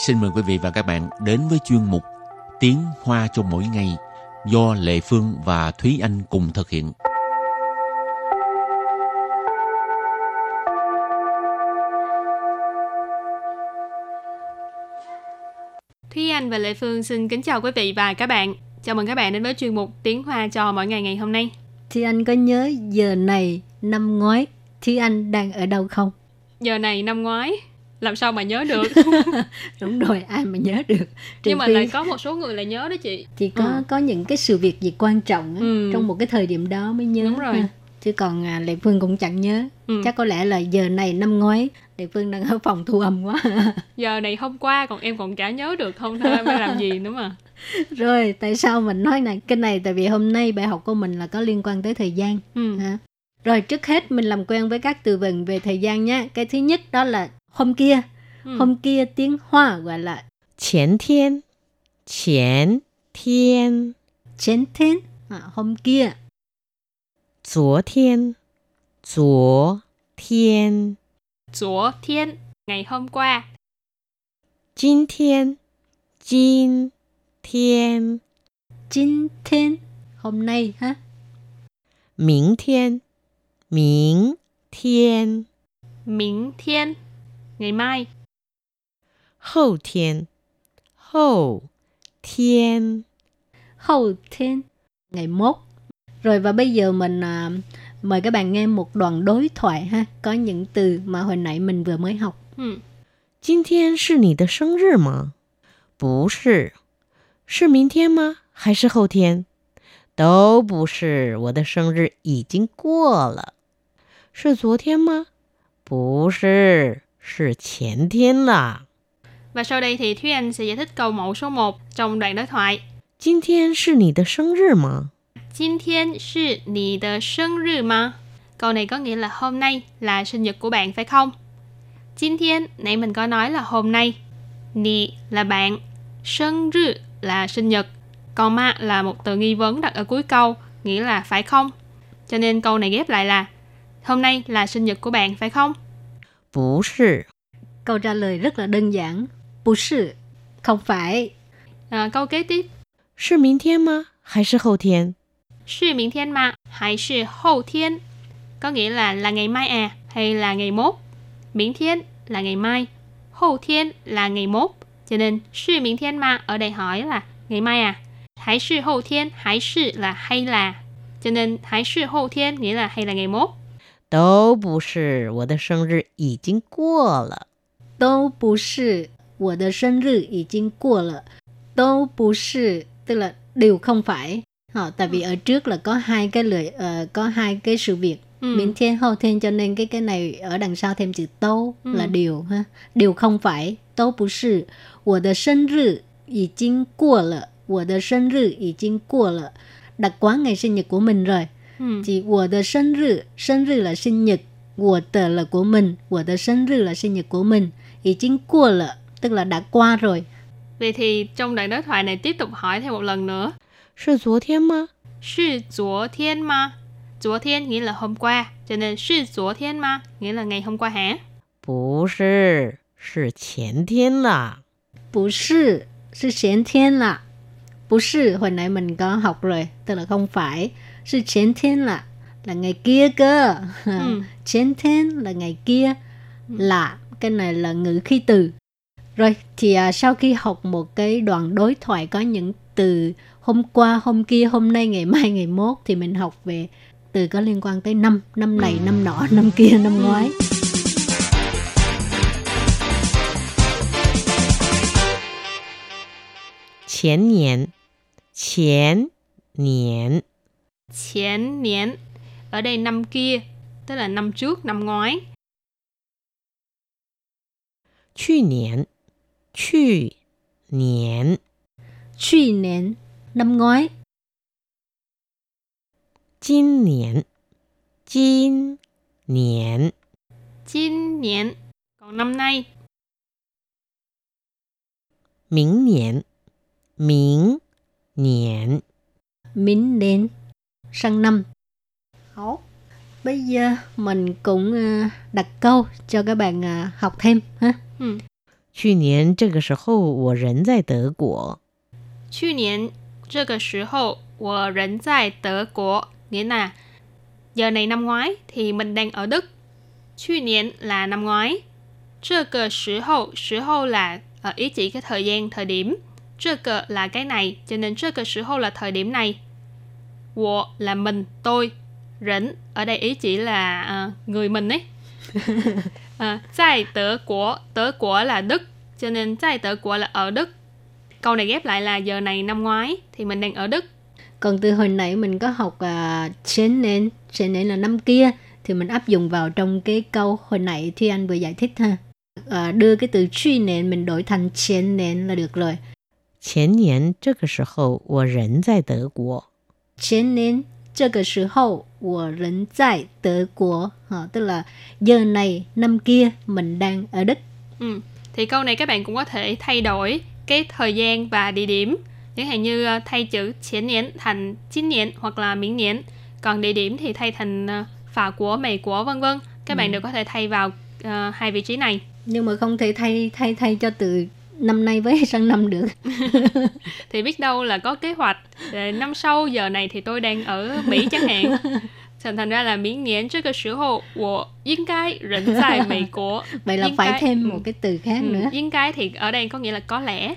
xin mời quý vị và các bạn đến với chuyên mục Tiếng Hoa cho mỗi ngày do Lệ Phương và Thúy Anh cùng thực hiện. Thúy Anh và Lệ Phương xin kính chào quý vị và các bạn. Chào mừng các bạn đến với chuyên mục Tiếng Hoa cho mỗi ngày ngày hôm nay. Thúy Anh có nhớ giờ này năm ngoái Thúy Anh đang ở đâu không? Giờ này năm ngoái làm sao mà nhớ được? Đúng rồi, ai mà nhớ được. Nhưng mà lại có một số người lại nhớ đó chị. Chỉ có những cái sự việc gì quan trọng trong một cái thời điểm đó mới nhớ. Đúng rồi. Ha. Chứ còn Lệ Phương cũng chẳng nhớ. Chắc có lẽ là giờ này năm ngoái Lệ Phương đang ở phòng thu âm quá. Giờ này hôm qua còn em còn chả nhớ được, không thôi em phải làm gì nữa mà. Rồi, tại sao mình nói cái này? Tại vì hôm nay bài học của mình là có liên quan tới thời gian. Ha. Rồi, trước hết mình làm quen với các từ vựng về thời gian nhé. Cái thứ nhất đó là hôm kia. Hôm kia tiếng Hoa gọi là 前天 前天前天 hôm kia. 昨天 昨天昨天 ngày hôm qua. 今天 今天今天 hôm nay ha. 明天 明天明天 ngày mai. 後天 後天 Hậu thiên ngày mốt. Rồi và bây giờ mình mời các bạn nghe một đoạn đối thoại ha. Có những từ mà hồi nãy mình vừa mới học. 今天是你的生日吗？不是。是明天嗎？還是後天？都不是，我的生日已經過了。是昨天嗎？不是，是前天啦。 Và sau đây thì Thúy Anh sẽ giải thích câu mẫu số 1 trong đoạn đối thoại. 今天是你的生日嗎？ 今天是你的生日嗎? Câu này có nghĩa là hôm nay là sinh nhật của bạn phải không? 今天 nãy mình có nói là hôm nay. 你 là bạn, 生日 là sinh nhật, còn ma là một từ nghi vấn đặt ở cuối câu, nghĩa là phải không? Cho nên câu này ghép lại là hôm nay là sinh nhật của bạn phải không? 不是。 Câu trả lời rất là đơn giản. 不是 không phải. Câu kế tiếp. 是明天嗎？還是後天？ 是明天嗎？還是後天? Có nghĩa là ngày mai à, hay là ngày mốt. 明天 là ngày mai, 後天 là ngày mốt. Cho nên 是明天嗎 ở đây hỏi là ngày mai à, 還是後天, 還是 là hay là. Cho nên 還是後天 nghĩa là hay là ngày mốt. 都不是，我的生日已經過了。 都不是，我的生日已經過了。都不是 tức là đều không phải. Tại vì ở trước là có hai cái sự việc. Miễn thiên hậu thiên, cho nên cái này ở đằng sau thêm chữ tố là điều ha. Điều không phải. Tố不是，我的生日已經過了。我的生日已經過了。Đặt quá ngày sinh nhật của mình rồi. Chỉ 我的生日 là sinh nhật, 我的 là của mình, 我的生日 là sinh nhật của mình, 已經過了 tức là đã qua rồi. Vậy thì trong đoạn đối thoại này tiếp tục hỏi thêm một lần nữa. 是昨天嗎？ 是昨天嗎? 昨天 nghĩa là hôm qua, cho nên 是昨天嗎 nghĩa là ngày hôm qua hả? 不是，是前天啦。 不是，是前天啦。不是hồi nãy mình có học rồi, tức là không phải. 是前天啦 là ngày kia cơ. 前天 là ngày kia. Là cái này là ngữ khí từ. Rồi thì sau khi học một cái đoạn đối thoại có những từ hôm qua, hôm kia, hôm nay, ngày mai, ngày mốt, thì mình học về từ có liên quan tới năm. Năm này, năm nọ, năm kia, năm ngoái. 前年 前年前年 ở đây năm kia, tức là năm trước, năm ngoái. 去年 去年去年 năm ngoái. 今年 今年今年 còn năm nay. 明年明年明年 sang năm.好. Bây giờ mình cũng đặt câu cho các bạn học thêm ha. 去年這個時候我人在德國。 去年這個時候我人在德國, nghĩa là giờ này năm ngoái thì mình đang ở Đức. 去年 là năm ngoái. 這個時候 là ý chỉ cái thời gian, thời điểm. 這個 là cái này, cho nên 這個時候 là thời điểm này. 我 là mình, tôi. Rỉnh ở đây ý chỉ là người mình ấy. Tại德國,德國là Đức, cho nên tại德國là ở Đức. Câu này ghép lại là giờ này năm ngoái thì mình đang ở Đức. Còn từ hồi nãy mình có học前年là năm kia, thì mình áp dụng vào trong cái câu hồi nãy Thi Anh vừa giải thích ha. Đưa cái từ 去年 mình đổi thành 前年 là được rồi. 前年這個時候我人在德國。 前年這個時候我人在德國. Tức là giờ này năm kia mình đang ở Đức. Thì câu này các bạn cũng có thể thay đổi cái thời gian và địa điểm. Chẳng hạn như thay chữ 前年 thành 今年 hoặc là 明年. Còn địa điểm thì thay thành Pháp của, Mỹ của, vân vân. Các bạn đều có thể thay vào hai vị trí này. Nhưng mà không thể thay cho từ năm nay với sang năm được. Thì biết đâu là có kế hoạch năm sau giờ này thì tôi đang ở Mỹ chẳng hạn. Thành ra là 明年這個時候我應該人在美國. Vậy là phải thêm một cái từ khác nữa. 應該 thì ở đây có nghĩa là có lẽ.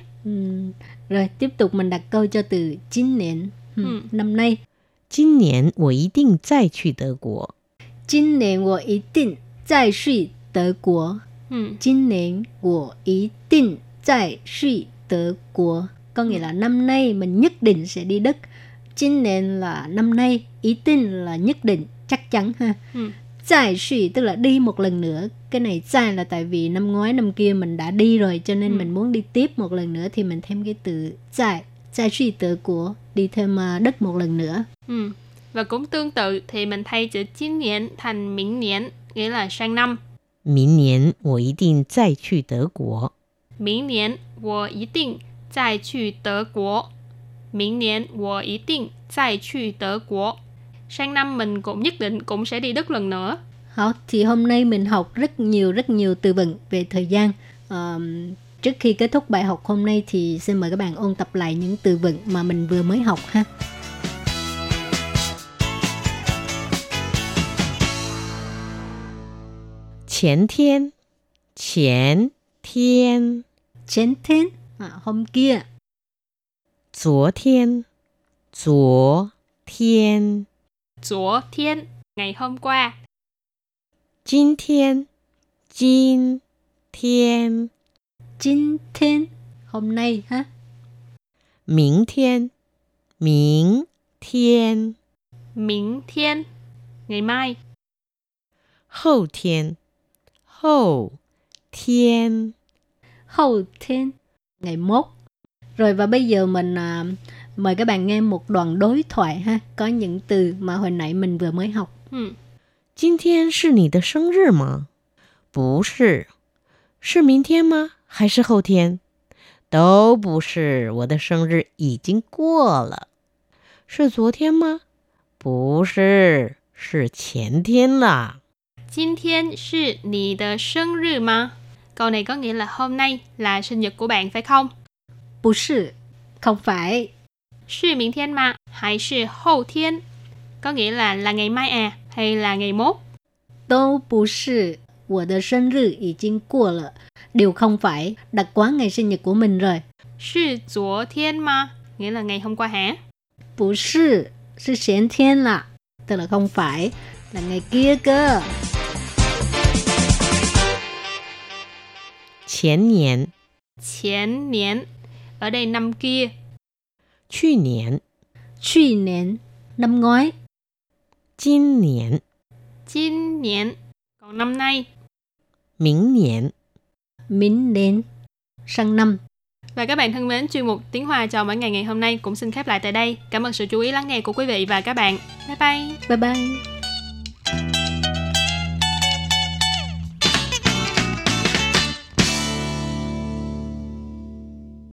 Rồi tiếp tục mình đặt câu cho từ 今年. Năm nay. 今年我一定再去德國。 今年我一定再去德國. 今年我一定再去德國. Có nghĩa là năm nay mình nhất định sẽ đi Đức. 今年 là năm nay, ý tin là nhất định, chắc chắn ha.再去 tức là đi một lần nữa. Cái này再là tại vì năm ngoái năm kia mình đã đi rồi, cho nên mình muốn đi tiếp một lần nữa thì mình thêm cái từ 再去德國, đi thêm Đức một lần nữa. Và cũng tương tự thì mình thay chữ 今年 thành 明年, nghĩa là sang năm. 明年我一定再去德國。 明年我一定再去德國。明年我一定再去德國. Sang năm mình cũng nhất định cũng sẽ đi Đức lần nữa. Thì hôm nay mình học rất nhiều từ vựng về thời gian. Trước khi kết thúc bài học hôm nay thì xin mời các bạn ôn tập lại những từ vựng mà mình vừa mới học ha. 前天 前天前天 hôm kia. 昨天 昨天昨天 ngày hôm qua. 今天 今天今天 hôm nay ha. 明天 明天明天 ngày mai. 後天 後天後天 ngày mốt. Rồi và bây giờ mình mời các bạn nghe một đoạn đối thoại ha. Có những từ mà hồi nãy mình vừa mới học. 今天是你的生日嗎？不是。是明天嗎？還是後天？都不是，我的生日已經過了。是昨天嗎？不是，是前天啦。 今天是你的生日嗎? Câu này có nghĩa là hôm nay là sinh nhật của bạn phải không? 不是, không phải. 是明天嗎? Hay是後天? Có nghĩa là ngày mai à, hay là ngày mốt? 都不是, 我的生日已經過了. Đều không phải, đặt quá ngày sinh nhật của mình rồi. 是昨天嗎? Nghĩa là ngày hôm qua hả? 不是, 是前天啦. Tức là không phải, là ngày kia cơ. 前年前年 ở đây năm kia. 去年去年 năm ngoái. 今年今年 còn năm nay. 明年明年 sang năm. Và các bạn thân mến, chuyên mục Tiếng Hoa cho mỗi ngày hôm nay cũng xin khép lại tại đây. Cảm ơn sự chú ý lắng nghe của quý vị và các bạn. Bye bye. Bye bye.